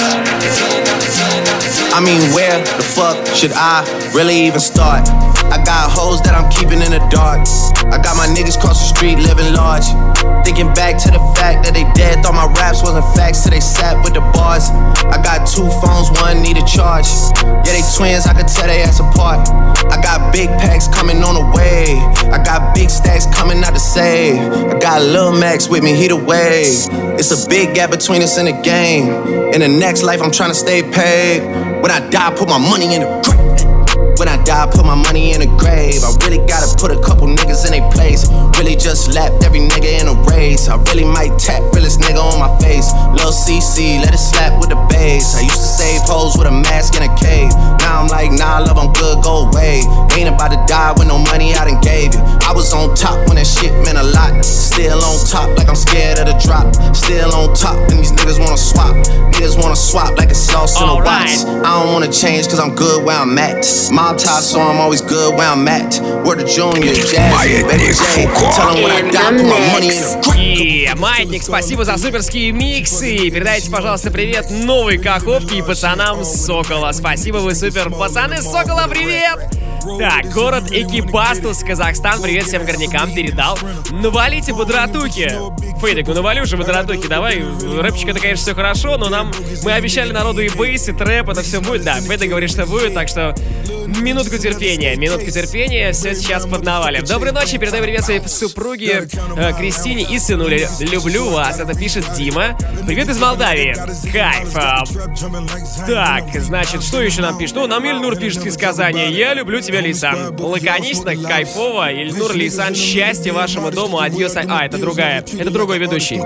Speaker 10: I mean, where the fuck should I really even start? I got hoes that I'm keeping in the dark. I got my niggas cross the street living large. Thinking back to the fact that they dead, thought my raps wasn't facts till they sat with the bars. I got two phones, one need a charge. Yeah, they twins, I could tell they ass apart. I got big packs coming on the way. I got big stacks coming out to save. I got Lil Max with me, he the wave. It's a big gap between us in the game. In the next life, I'm trying to stay paid. When I die, put my money in the grave. When I die, put my money in the grave. I really gotta put a couple niggas in their place. Really just lapped every nigga in a race. I really might tap realest nigga on my face. Lil' C C, let it slap with the bass. I used to save hoes with a mask in a cave. Now I'm like, nah, love, I'm good, go away. Ain't about to die with no money I done gave you. I was on top when that shit meant a lot. Still on top like I'm scared of the drop. Still on top and these niggas wanna swap. Niggas wanna swap like it's sauce in a box. I don't wanna change cause I'm good where I'm at. Mob tie, so I'm always good where I'm at. Word to Junior, Jazzy, Baby J. Tell them when I die, put my money in the
Speaker 2: И Маятник, спасибо за суперские миксы. Передайте, пожалуйста, привет новой Каховке и пацанам с Сокола. Спасибо, вы супер. Пацаны с Сокола, привет! Так, город Экибастуз, Казахстан. Привет всем горнякам, передал. Навалите бодратухи. Фейдик, ну навали уже бодратухи, давай. Рэпчик, это, конечно, все хорошо, но нам... Мы обещали народу и бейс, и трэп, это все будет. Да, Фейдик говорит, что будет, так что... Минутку терпения, минутку терпения, все сейчас под навалем. Доброй ночи, передаю привет своей супруге э, Кристине и сынуле. Люблю вас, это пишет Дима. Привет из Молдавии. Кайф. А, так, значит, что еще нам пишет? Ну, нам Ильнур пишет из Казани. Я люблю тебя, Лейсан. Лаконично, кайфово. Ильнур, Лейсан, счастья вашему дому. Адьос. А, это другая, это другой ведущий.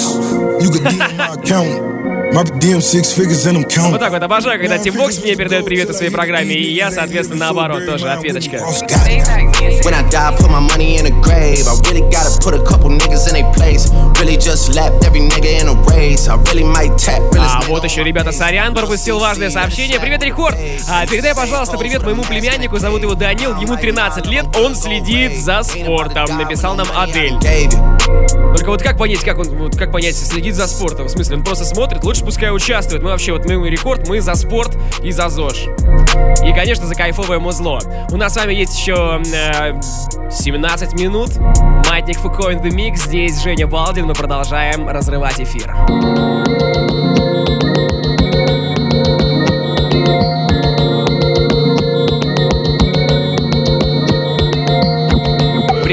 Speaker 2: Вот так вот, обожаю, когда Тимбокс мне передает привет о своей программе, и я, соответственно, наоборот, тоже ответочка.
Speaker 10: When I die, put my money in a grave. I really gotta put a couple niggas in their place. Really just lapped every nigga in a race. I really might tap.
Speaker 2: А вот еще, ребята, сорян, пропустил важное сообщение. Привет, Рекорд! А, передай, пожалуйста, привет моему племяннику, зовут его Данил, ему тринадцать лет, он следит за спортом. Написал нам Адель. Только вот как понять, как он, вот как понять, следит за спортом? В смысле, он просто смотрит, лучше пускай участвует. Мы вообще, вот мы Рекорд, мы за спорт и за ЗОЖ. И, конечно, за кайфовое музло. У нас с вами есть еще э, семнадцать минут. Маятник Фуко in the Mix. Здесь Женя Балдин. Мы продолжаем разрывать эфир.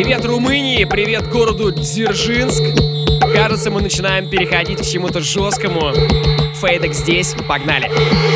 Speaker 2: Привет Румынии, привет городу Дзержинск. Кажется, мы начинаем переходить к чему-то жесткому. Фейдек здесь, погнали.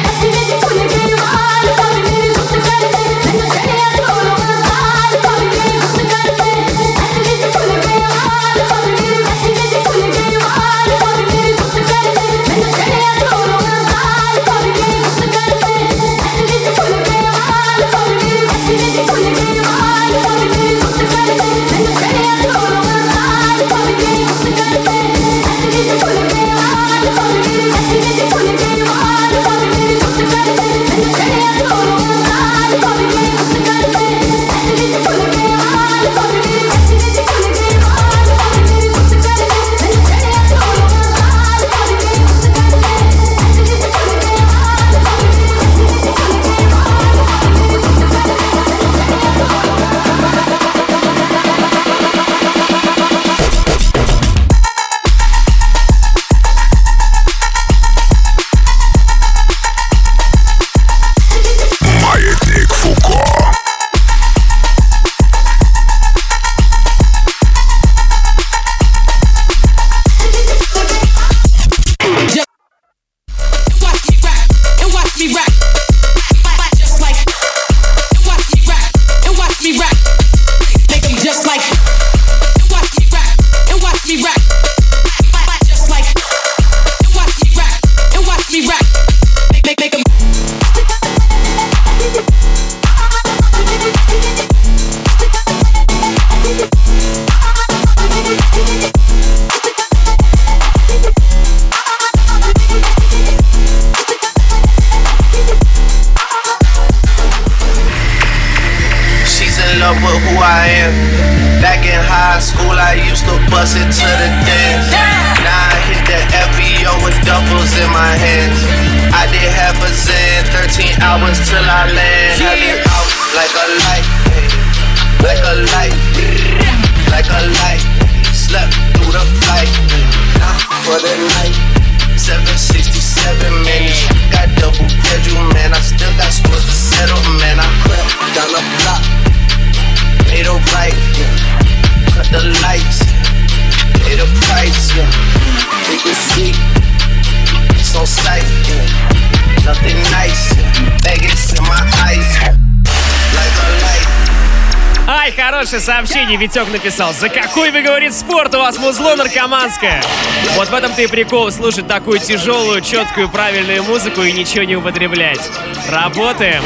Speaker 2: Хорошее сообщение Витек написал. За какой, вы, говорит, спорт? У вас музло наркоманское. Вот в этом-то и прикол, слушать такую тяжелую, четкую, правильную музыку и ничего не употреблять. Работаем.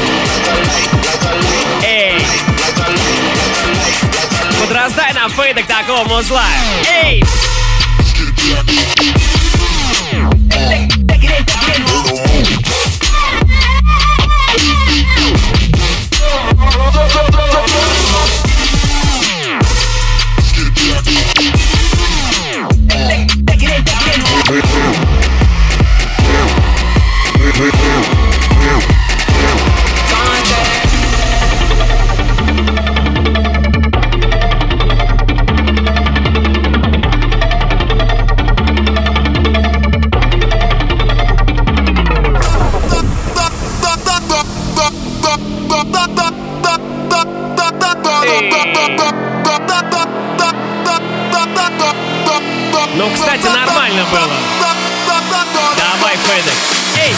Speaker 2: Эй! Подраздай нам фейдок такого музла. Эй! Ну, кстати, нормально было. Давай, Фейдек. Эй!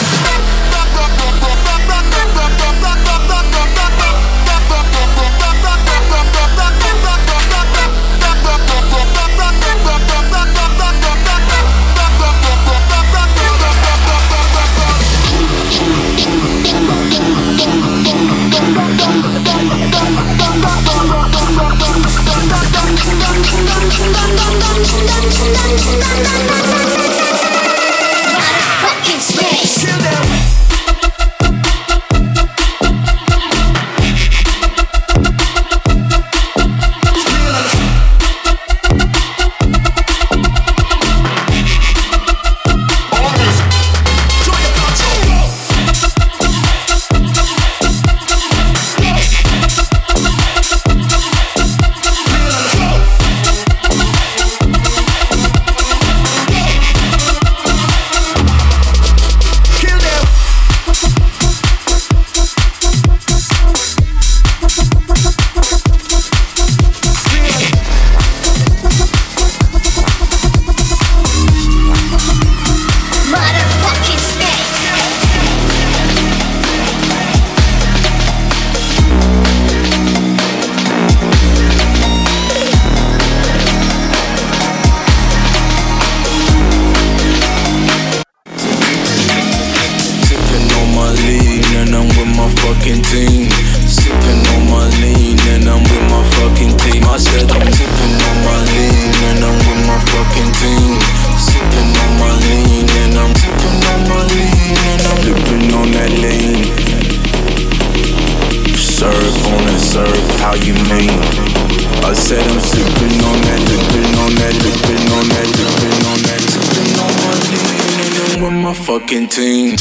Speaker 4: my fucking team.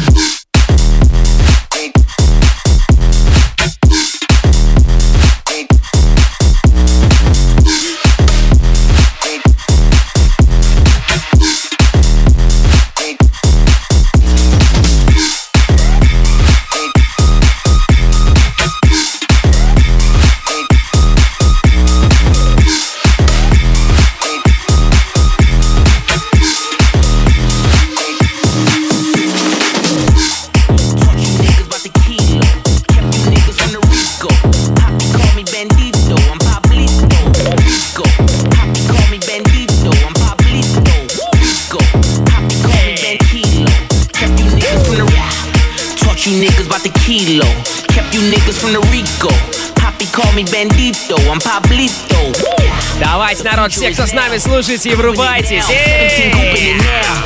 Speaker 5: Kilo. Kept you niggas from the Rico. Poppy call me Bandito, I'm Pablito.
Speaker 2: Давайте, народ, все, кто с нами, слушайте и врубайтесь. Эй!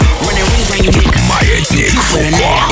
Speaker 1: Маятник Фуко.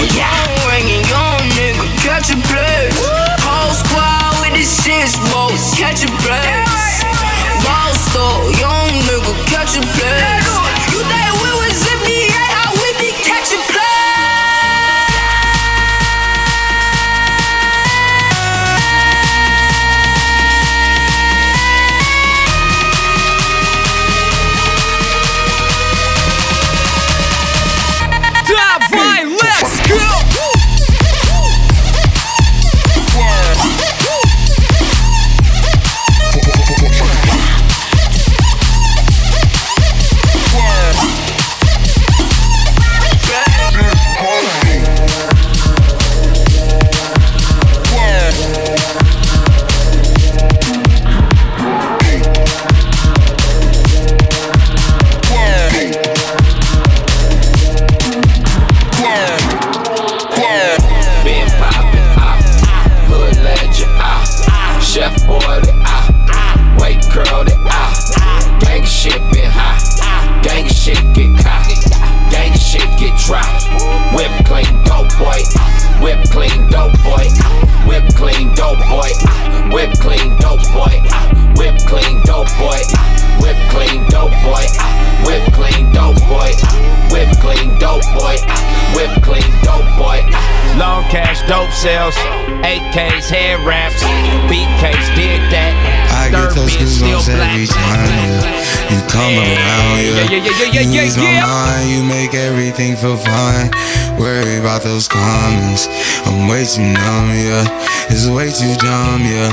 Speaker 23: eight K's, head wraps, B K's, did that.
Speaker 7: I get those goosebumps every time you come around. Yeah, yeah, yeah, yeah, yeah, you ease my mind, you make everything feel fine. Worry about those comments, I'm way too numb, yeah. It's way too dumb, yeah.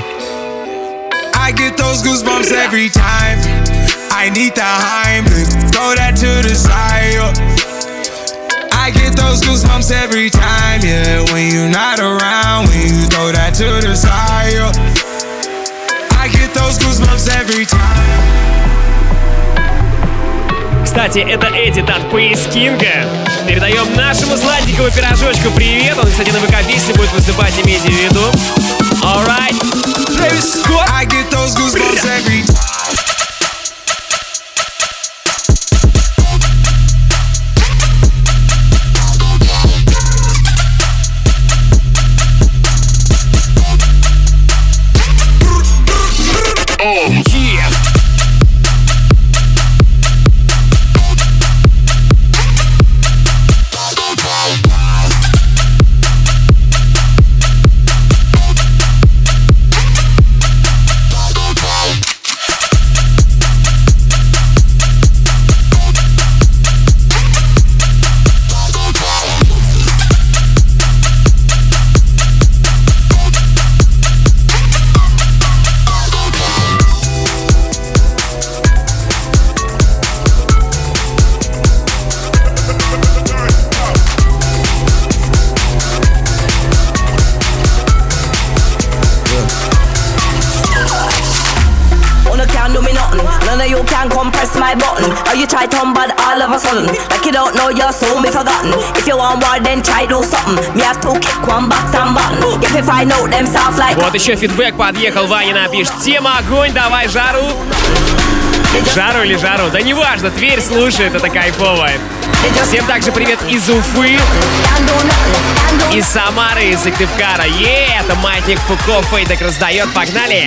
Speaker 7: I get those goosebumps every time. I need the Heimlich, throw that to the side, yeah. I get those goosebumps every time, yeah. When you're not around, when you throw that to the side, yeah. I get those goosebumps every time.
Speaker 2: Кстати, это Эдит от Пейс Кинга. Передаем нашему сладенькому пирожочку привет. Он, кстати, на ВК-песне будет выступать, имейте в виду. Alright, Трэвис Скотт.
Speaker 7: I get those goosebumps every time.
Speaker 24: You try to but all of a sudden, like you don't know you're soon be forgotten. If you want more, then try do something. Me have to kick one box and button. If I know them soft like.
Speaker 2: Вот еще фидбэк подъехал, Ваня напишет. Тема огонь, давай жару. Жару или жару? Да неважно, Тверь слушает, это кайфово. Всем также привет из Уфы, из Самары, из Сыктывкара. Е, это Маятник Фуко, Фейдек раздает, погнали!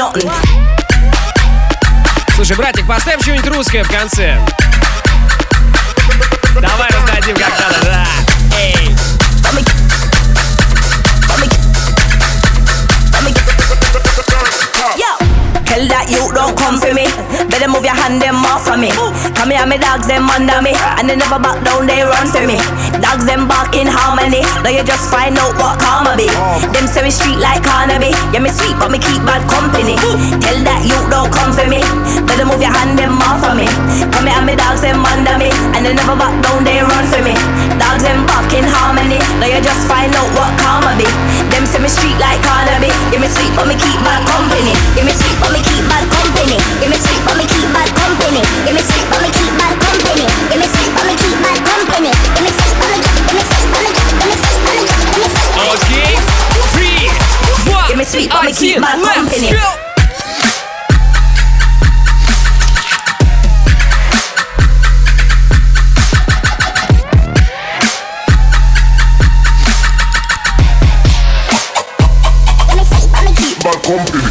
Speaker 24: nothing.
Speaker 2: Слушай, братик, поставь что-нибудь русское в конце. Давай раздадим как надо, да. Эй.
Speaker 24: Tell that you don't come for me. Better move your hand them off of me. Come here, me dogs them under me, and they never back down, they run for me. Dogs them bark in harmony. Now you just find out what karma be. Them say me street like Carnaby. Yeah, me sweet, but me keep bad company. Tell that you don't come for me. Better move your hand them off of me. Come here, me dogs them under me, and they never back down, they run for me. Dogs them bark in harmony. Now you just find out what karma be. Them say me street like Carnaby. Yeah, me sweet, but me keep bad company. Yeah, me sweet, but me keep bad company. Give me sweet, but me keep bad company. Give me sweet, but me keep bad company. Give me sweet, but me keep bad company. Give me sweet, but me keep, give me sweet, but me keep, give me sweet, but me keep, give me sweet.
Speaker 2: Okay, three, one,
Speaker 24: give me sweet, but me keep bad company.
Speaker 2: Let's go.
Speaker 3: Bad company.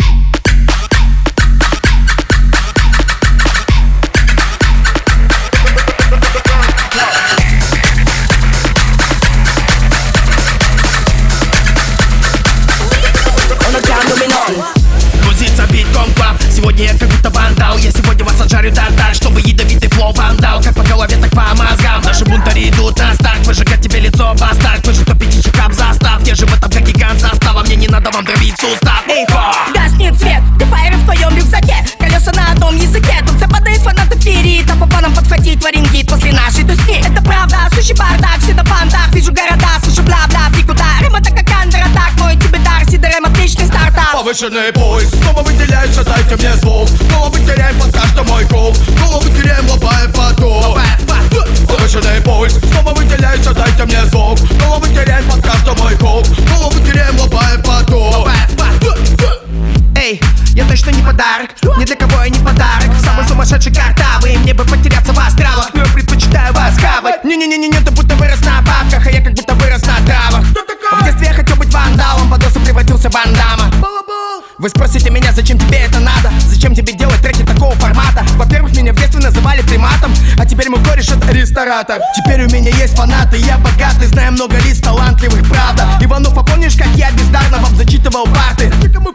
Speaker 4: Сегодня я как будто вандал. Я сегодня вас отжарю тартар, чтобы ядовитый флоу вандал. Как по голове, так по мозгам. Наши бунтари идут на старт. Выжигать тебе лицо, бастард. Вы же топите чекап застав. Я же в этом как гигант состава. Мне не надо вам дробить сустав. Эй, хо!
Speaker 24: Гаснет свет, ты фаер в твоем рюкзаке. Колеса на одном языке. Тут западает фанаты ферит. А по планам подхватить варингит после нашей туски. Это правда, сущий бардак, все на бандах. Вижу города, слышу бла-бла, фиг куда. Рыма так как андер-атак. Мой тебе дар, сидорем, отличный стартап.
Speaker 10: Повышенный поиск, снова выделяется, дайте мне звук. Снова мы теряем под каждый мой круг. Снова мы теряем, лобая поток. Повышенный пульс, снова выделяется, дайте мне звук. Снова мы теряем под каждый мой круг. Снова мы теряем, лобая поток.
Speaker 4: Эй, я точно не подарок, ни для кого я не подарок. Самый сумасшедший картавый, мне бы потеряться в астралах. Но я предпочитаю вас хавать. Не-не-не-не, ты будто вырос на бабках, а я как будто вырос на травах. В детстве я хотел быть вандалом, под осу превратился в Ван Дамма. Вы спросите меня, зачем тебе это надо? Зачем тебе делать треки такого формата? Во-первых, меня в детстве называли приматом, а теперь мой кореш это ресторатор. Теперь у меня есть фанаты, я богатый, знаю много лиц талантливых, правда. Иванов, а помнишь, как я бездарно вам зачитывал парты?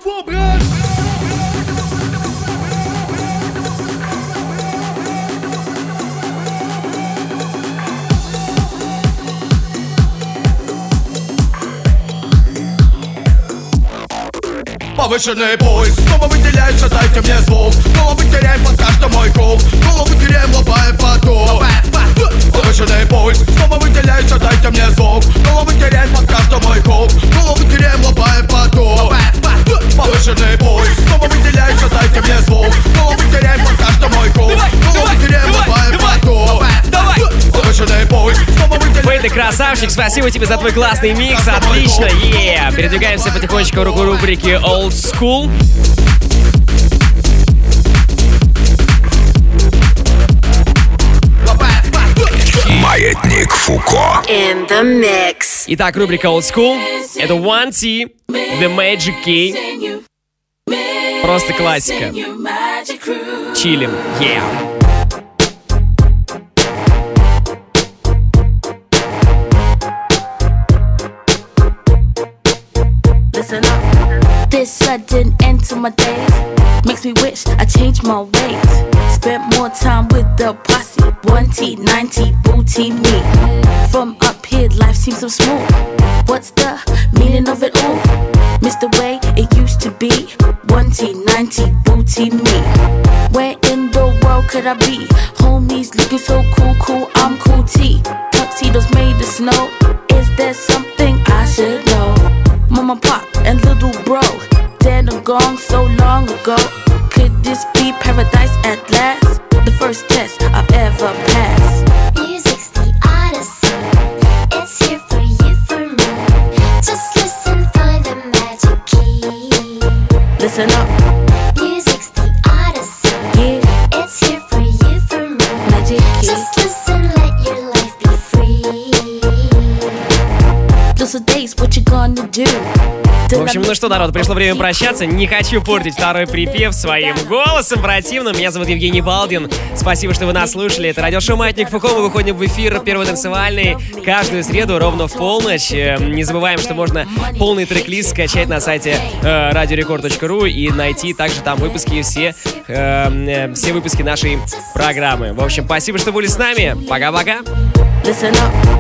Speaker 10: Повышенный поиск, снова выделяется, дайте мне звук. Снова мы теряем под каждый мой круг. Снова мы теряем, лобая поток. Повышенный поиск, снова выделяется, дайте мне звук. Снова мы теряем под каждый мой круг. Снова мы теряем, лобая поток. Повышенный поиск, снова выделяется, дайте мне звук. Снова мы теряем под каждый мой круг. Снова мы теряем, лобая поток. Повышенный поиск, снова выделяется.
Speaker 2: Фэй, ты красавчик, спасибо тебе за твой классный микс, отлично, е yeah. Передвигаемся потихонечку в рубрике Old School.
Speaker 1: Маятник Фуко.
Speaker 15: In the mix.
Speaker 2: Итак, рубрика Old School. Это One T, The Magic Key. Просто классика. Чилим, yeah.
Speaker 8: Listen up. This sudden end to my days makes me wish I changed my ways. Spent more time with the posse. One T, ninety, booty me. From up here, life seems so smooth. What's the meaning of it all? Miss the way it used to be. One T, ninety, booty me. Where in the world could I be? Homies looking so cool, cool, I'm cool T. Tuxedos made of snow. Is there something I should know? Mama, pop, and little bro, dead and gone so long ago. Could this be paradise at last? The first test I've ever passed.
Speaker 9: Music's the odyssey. It's here for you, for me. Just listen, find the magic key.
Speaker 8: Listen up.
Speaker 9: Music's the odyssey.
Speaker 8: Yeah.
Speaker 9: It's here for you, for me.
Speaker 8: Magic key.
Speaker 9: Just listen, let your life be free.
Speaker 8: Those are days, what you gonna do?
Speaker 2: В общем, ну что, народ, пришло время прощаться. Не хочу портить второй припев своим голосом противным. Меня зовут Евгений Балдин. Спасибо, что вы нас слушали. Это радиошоу «Маятник Фуко». Мы выходим в эфир первый танцевальный каждую среду ровно в полночь. Не забываем, что можно полный трек-лист скачать на сайте э, радио рекорд точка ру и найти также там выпуски все, э, э, все выпуски нашей программы. В общем, спасибо, что были с нами. Пока-пока.
Speaker 24: Listen up.